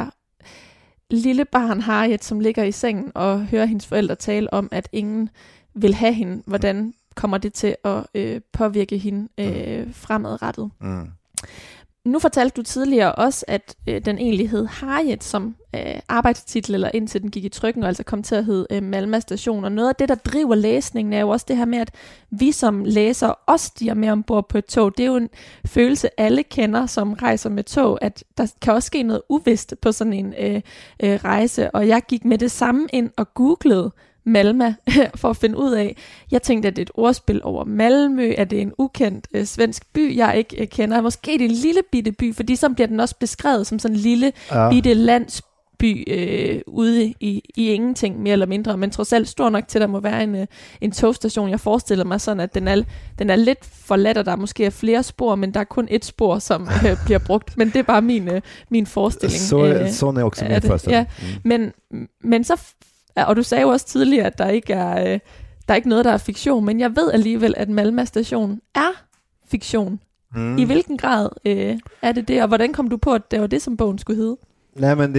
lille barn Harriet, som ligger i sengen og hører hendes forældre tale om, at ingen vil have hende. Hvordan kommer det til at påvirke hende fremadrettet? Mm. Nu fortalte du tidligere også, at den egentlig hed Harriet som arbejdstitel, eller indtil den gik i trykken, og altså kom til at hedde Malmö Station. Og noget af det, der driver læsningen, er jo også det her med, at vi som læsere også stiger med ombord på et tog. Det er jo en følelse, alle kender, som rejser med tog, at der kan også ske noget uvist på sådan en rejse. Og jeg gik med det samme ind og googlede Malmö for at finde ud af. Jeg tænkte, at det er et ordspil over Malmø, at det er en ukendt svensk by, jeg ikke kender. Måske det er en lille bitte by, fordi så bliver den også beskrevet som sådan en lille bitte landsby ude i ingenting, mere eller mindre. Men trods alt stor nok til, at der må være en togstation. Jeg forestiller mig sådan, at den er lidt forladt, og der måske er flere spor, men der er kun et spor, som bliver brugt. Men det er bare min forestilling. Sådan er også min forestilling. Ja. Men så... Og du sagde jo også tidligere, at der ikke er noget, der er fiktion, men jeg ved alligevel, at Malmö Station er fiktion. Mm. I hvilken grad er det, og hvordan kom du på, at det var det, som bogen skulle hedde? Nej, men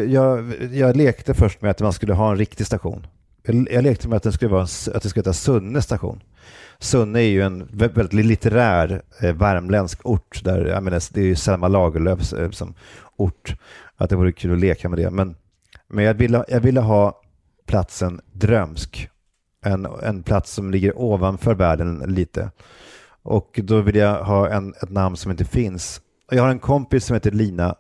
jag lekte först med att man skulle ha en riktig station. Jag lekte med att det skulle heta Sunne station. Sunne är ju en väldigt litterär värmländsk ort där, jag menar, det är ju Selma Lagerlöfs som ort, att det vore kul att leka med det, men jag ville ha platsen drömsk, en plats som ligger ovanför världen lite, och då vill jag ha ett namn som inte finns. Jag har en kompis som heter Lina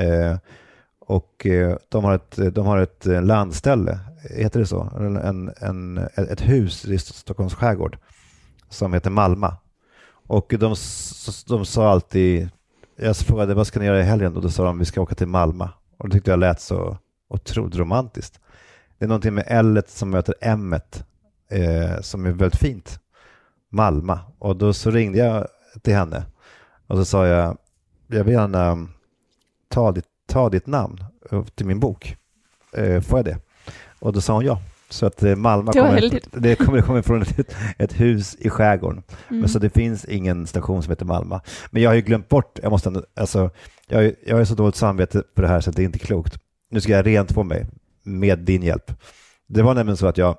och de har ett landställe, heter det så, ett hus i Stockholms skärgård som heter Malmö, och de sa alltid, jag frågade vad ska ni göra i helgen, och då sa de vi ska åka till Malmö, och det tyckte jag lät så otroligt romantiskt. Det är någonting med L-et som möter M-et som är väldigt fint. Malmö. Och då så ringde jag till henne och så sa jag vill gärna ta ditt namn till min bok. Får jag det? Och då sa hon ja. Så att Malmö kommer från ett hus i skärgården. Mm. Men så det finns ingen station som heter Malmö. Men jag har ju glömt bort, jag har så dåligt samvete på det här så att det är inte klokt. Nu ska jag rent få mig med din hjälp. Det var nämligen så att jag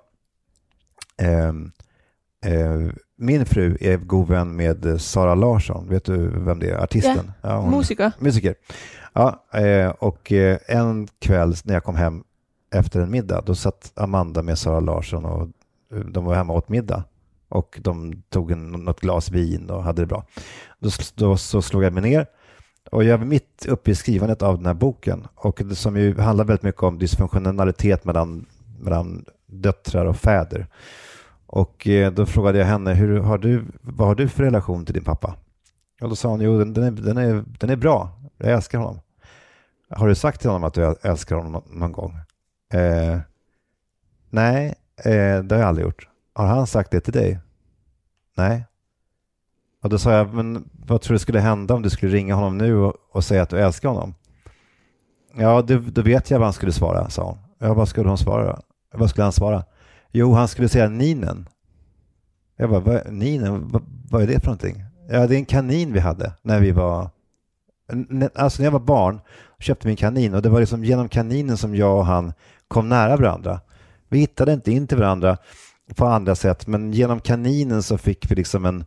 min fru är god vän med Sara Larsson. Vet du vem det är? Artisten. Ja, musiker. Ja, och en kväll när jag kom hem efter en middag, då satt Amanda med Sara Larsson och de var hemma åt middag. Och de tog något glas vin och hade det bra. Då så slog jag mig ner. Och jag var mitt uppe i skrivandet av den här boken. Och det som ju handlar väldigt mycket om dysfunktionalitet mellan döttrar och fäder. Och då frågade jag henne, vad har du för relation till din pappa? Och då sa hon, jo den är bra. Jag älskar honom. Har du sagt till honom att du älskar honom någon gång? Nej, det har jag aldrig gjort. Har han sagt det till dig? Nej. Och då sa jag, men vad tror du skulle hända om du skulle ringa honom nu och säga att du älskar honom? Ja, då vet jag vad han skulle svara, sa hon. Ja, vad skulle hon svara? Vad skulle han svara? Jo, han skulle säga Ninen. Jag bara, Ninen? Vad är det för någonting? Ja, det är en kanin vi hade när vi var... Alltså när jag var barn köpte vi en kanin och det var liksom genom kaninen som jag och han kom nära varandra. Vi hittade inte in till varandra på andra sätt, men genom kaninen så fick vi liksom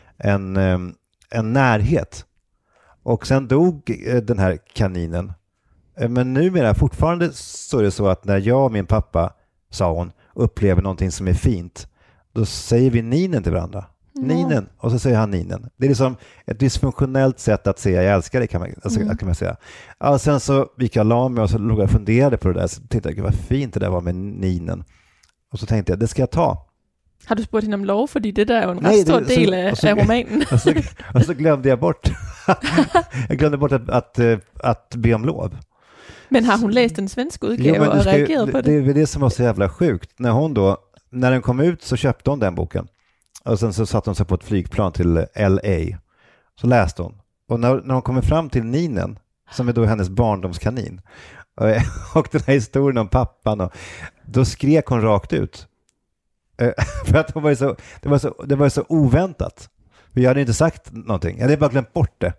en närhet. Och sen dog den här kaninen. Men numera fortfarande så är det så att när jag och min pappa, sa hon, upplever någonting som är fint, då säger vi Ninen till varandra. Ninen, och så säger han Ninen. Det är liksom ett dysfunktionellt sätt att säga jag älskar dig, kan man säga. Ja, sen så gick jag la mig och så låg jag och funderade på det där. Så tänkte jag, vad fint det där var med Ninen. Och så tänkte jag, det ska jag ta. Har du spurgt hende om lov? Fordi det der er jo en ret stor del af romanen. och så glömde jag bort. Jag glömde bort att be om lov. Men har hon läst den svenska udgave och reageret på det? Det är det som var så jävla sjukt. När den kom ut så köpte hon den boken. Och sen så satt hon sig på ett flygplan till LA. Så läste hon. Och när hon kommer fram till Ninen, som är då hennes barndomskanin, och den här historien om pappan, då skrek hon rakt ut. För att det var så oväntat. Vi hade inte sagt någonting. Jag hade bara glömt bort det.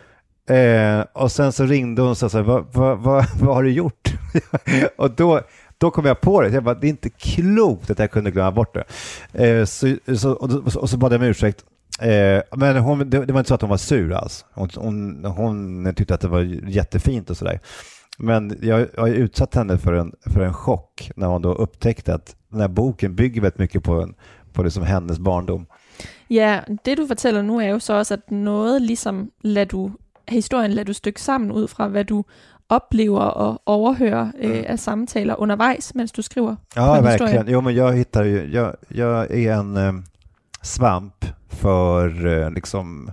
Och sen så ringde hon och sa så här, vad har du gjort? Och då kom jag på det. Jag bara, det är inte klokt att jag kunde glömma bort det. Och så bad jag om ursäkt. Men det var inte så att hon var sur alls. Hon tyckte att det var jättefint och sådär. Men jag har utsatt henne för en chock när hon då upptäckte att den här boken bygger väldigt mycket på det som hennes barndom. Ja, det du fortæller nu er jo så også, at noget ligesom historien lader du stykke sammen ud fra, hvad du oplever og overhører af samtaler undervejs, mens du skriver på en verkligen. historie. Jo, men jag är en svamp för liksom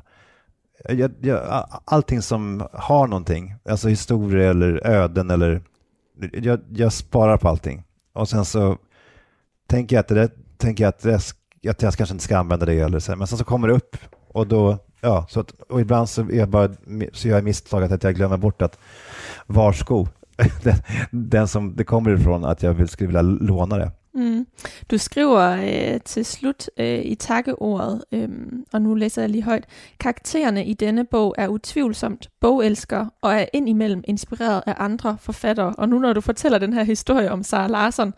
allting som har någonting, alltså historier eller öden eller jag sparar på allting. Och sen så tänker jag att jag kanske inte ska använda det eller så, men sen så kommer det upp och då och ibland så gör jag misstaget att jag glömmer bort att varsko den som det kommer ifrån, att jag skulle vilja låna det. Du skriver til slut i takkeordet, og nu læser jeg lige højt: karaktererne i denne bog er utvivlsomt bogelskere og er indimellem inspireret af andre forfattere. Og nu når du fortæller den her historie om Zara Larsson,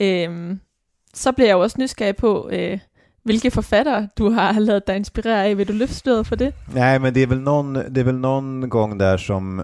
så bliver jeg jo også nysgerrig på, hvilke forfattere du har ladet dig inspirere af. Vil du løfte sløret for det? Nej, men det är väl någon gång där som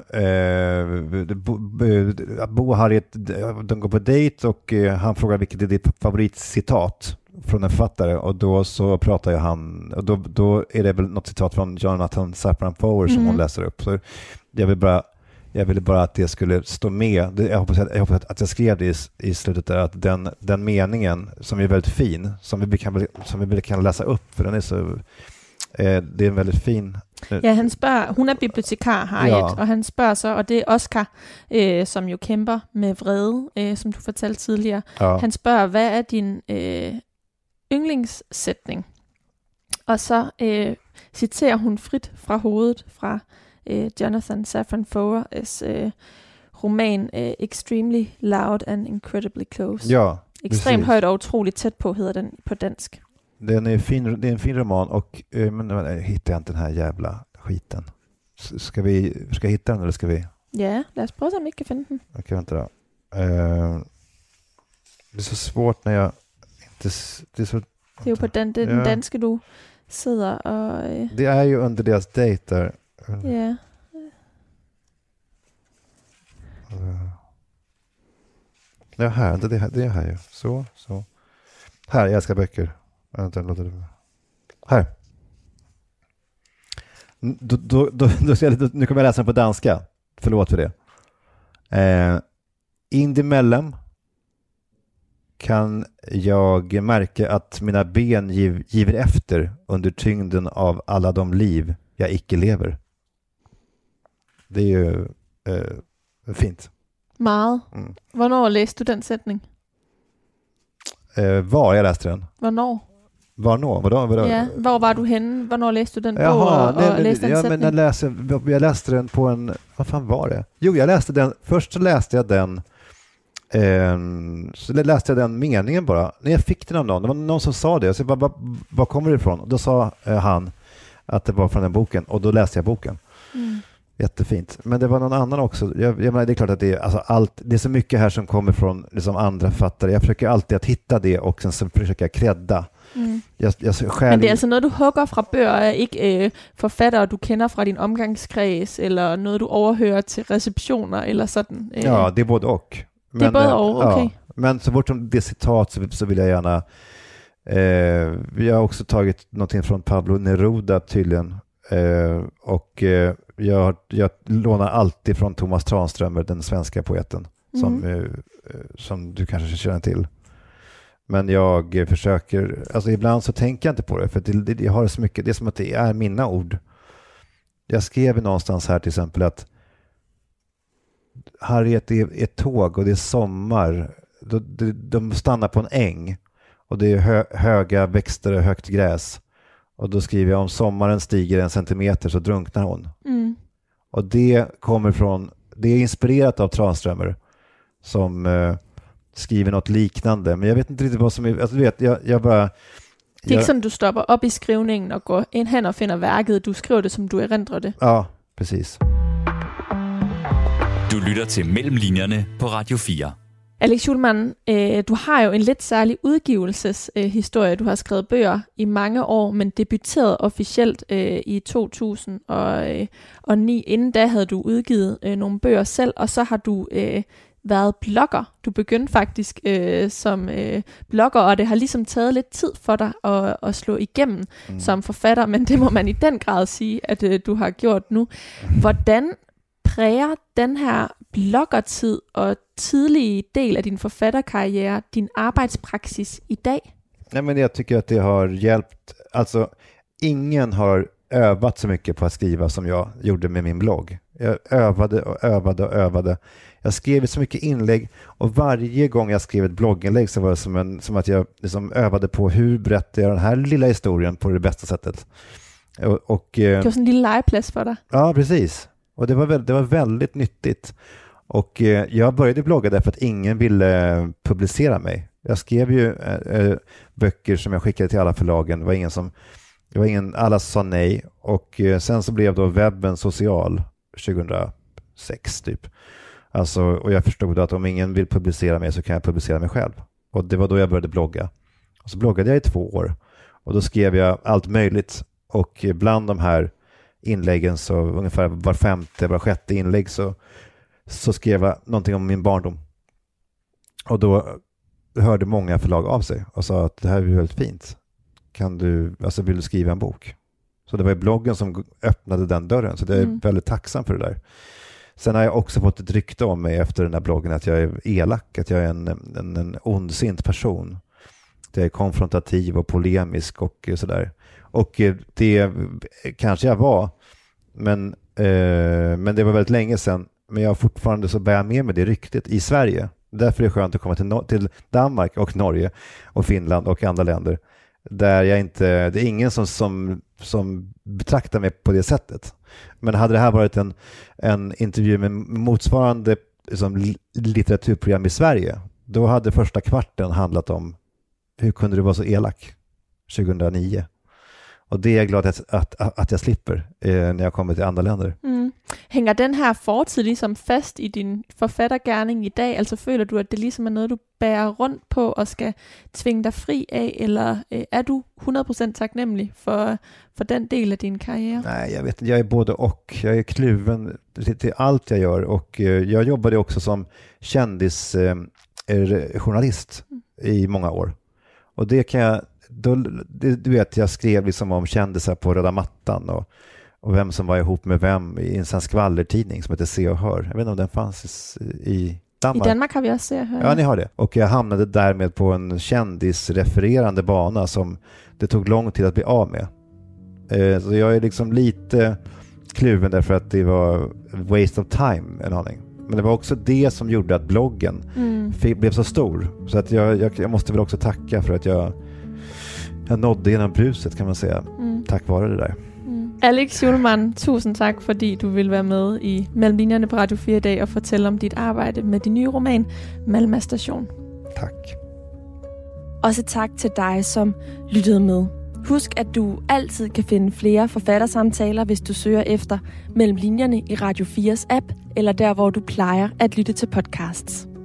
Bo och Harriet, de går på dejt och han frågar vilket är ditt favoritcitat från en författare, och då så pratar ju han, och då är det väl något citat från Jonathan Safran Foer som hon läser upp. Så jag ville bara att det skulle stå med. Jag hoppas att jag skrev det i slutet där, att den meningen som är väldigt fin, som vi kan läsa upp, för den är så det är en väldigt fin. Ja, han spørger, hun er bibliotekar, Harriet, og han spørger så, og det er Oscar, som jo kæmper med vrede, som du fortalte tidligere. Ja. Han spørger, hvad er din yndlingssætning? Og så citerer hun frit fra hovedet fra Jonathan Safran Foer's roman Extremely Loud and Incredibly Close. Ja, ekstremt højt og utroligt tæt på, hedder den på dansk. Den är fin, det är en fin roman, och men hittar jag inte den här jävla skiten. Ska jag hitta den eller ska vi? Ja, lad os prøve, om vi kan finde den. Okej, vänta då. Det är så svårt när jag inte... Det är ju på den danske, du sidder och... Det är ju under deras dejt där. Ja. Det är här ju. Så. Här, jag älskar böcker. Vänta, låter det. Här. Nu kommer jag läsa den på danska. Förlåt för det. Indimellem kan jag märka att mina ben giver efter under tyngden av alla de liv jag icke lever. Det är ju fint. Meget. Hvornår læste du den sætning? Var jag läste den? Hvornår? Vadå? Ja, hvor var du henne? Hvornår læste du den bog och läste den sætning? Jag läste den på en... Vad fan var det? Jo, jag läste den... Först så läste jag den... Så läste jag den meningen bara. När jag fick den av någon. Det var någon som sa det. Så jag bara, var kommer det ifrån? Och då sa han att det var från den boken. Och då läste jag boken. Jättefint. Men det var någon annan också. Jag menar, det är klart att det är, alltså det är så mycket här som kommer från liksom andra författare. Jag försöker alltid att hitta det och sen så försöker jag kredda. Men det är alltså noget, du hugger fra bøger, ikke forfattere, du kender fra din omgangskreds, eller noget, du overhører til receptioner, eller sådan? Ja, det är både och. Men, det är både och, okej. Ja, men så fort som det citat så vill jag gärna... vi har också tagit någonting från Pablo Neruda tydligen. Och jag lånar alltid från Thomas Tranströmer, den svenska poeten, som du kanske känner till. Men jag försöker, alltså ibland så tänker jag inte på det, för jag har så mycket, det är som att det är mina ord. Jag skrev någonstans här till exempel att Harriet är ett tåg och det är sommar. De stannar på en äng och det är höga växter och högt gräs. Och då skriver jag om sommaren stiger 1 centimeter så drunknar hon. Och det kommer från, det är inspirerat av Tranströmer som skriver något liknande. Men jag vet inte riktigt vad som är, alltså du vet, jag bara... Det är inte sådan, du stopper op i skrivningen och går ind hen og finder værket. Du skriver det, som du erindrer det. Ja, precis. Du lytter til Mellemlinjerne på Radio 4. Alex Schulman, du har jo en lidt særlig udgivelseshistorie. Du har skrevet bøger i mange år, men debuterede officielt i 2009. Inden da havde du udgivet nogle bøger selv, og så har du været blogger. Du begyndte faktisk som blogger, og det har ligesom taget lidt tid for dig at slå igennem som forfatter, men det må man i den grad sige, at du har gjort nu. Hvordan præger den her bloggertid og tidlige del af din forfatterkarriere din arbejdspraksis i dag? Nej, men jag tycker att det har hjälpt. Alltså, ingen har övat så mycket på att skriva som jag gjorde med min blogg. Jag övade. Jag skrev så mycket inlägg och varje gång jag skrev ett blogginlägg så var det som att jag liksom övade på hur berättar jag den här lilla historien på det bästa sättet. Och det var sådan en lille legeplads för dig. Ja, precis. Och det var väldigt nyttigt. Och jag började blogga därför att ingen ville publicera mig. Jag skrev ju böcker som jag skickade till alla förlagen. Alla sa nej. Och sen så blev då webben social 2006 typ. Alltså, och jag förstod att om ingen vill publicera mig så kan jag publicera mig själv. Och det var då jag började blogga. Och så bloggade jag i 2 år. Och då skrev jag allt möjligt. Och bland de här inläggen så ungefär var 5:e, var 6:e inlägg så skrev jag någonting om min barndom. Och då hörde många förlag av sig och sa att det här är väldigt fint. Vill du skriva en bok? Så det var bloggen som öppnade den dörren. Så jag är väldigt tacksam för det där. Sen har jag också fått ett rykte om mig efter den här bloggen att jag är elak, att jag är en ondsint person. Jag är konfrontativ och polemisk och sådär. Och det kanske jag var, men det var väldigt länge sedan. Men jag har fortfarande så bär med mig det ryktet i Sverige. Därför är det skönt att komma till Danmark och Norge och Finland och andra länder. Där det är ingen som betraktar mig på det sättet. Men hade det här varit en intervju med motsvarande liksom, litteraturprogram i Sverige, då hade första kvarten handlat om hur kunde du vara så elak 2009. Och det är jag glad att jag slipper när jag kommer till andra länder. Hænger den her fortid ligesom fast i din forfattergerning i dag? Altså føler du, at det ligesom er noget, du bærer rundt på og skal tvinge dig fri af? Eller er du 100% taknemmelig for den del af din karriere? Nej, jag vet inte. Jag är både och. Jag är kluven till allt jag gör. Och jag jobbade också som kändisjournalist i många år. Och det kan jag du vet, jag skrev liksom om kändisar på röda mattan och vem som var ihop med vem i en skvallertidning som heter Se och Hör. Jag vet inte om den fanns i Danmark. I Danmark har vi också Se och Hör. Ja, ni har det. Och jag hamnade därmed på en kändisrefererande bana som det tog lång tid att bli av med. Så jag är liksom lite kluven därför att det var waste of time en aning. Men det var också det som gjorde att bloggen blev så stor. Så att jag måste väl också tacka för att jag nådde genom bruset, kan man säga. Tack vare det där. Alex Schulman, tusind tak, fordi du vil være med i Mellem Linjerne på Radio 4 i dag og fortælle om dit arbejde med din nye roman, Malmö Station. Tak. Også tak til dig, som lyttede med. Husk, at du altid kan finde flere forfattersamtaler, hvis du søger efter Mellem Linjerne i Radio 4's app, eller der, hvor du plejer at lytte til podcasts.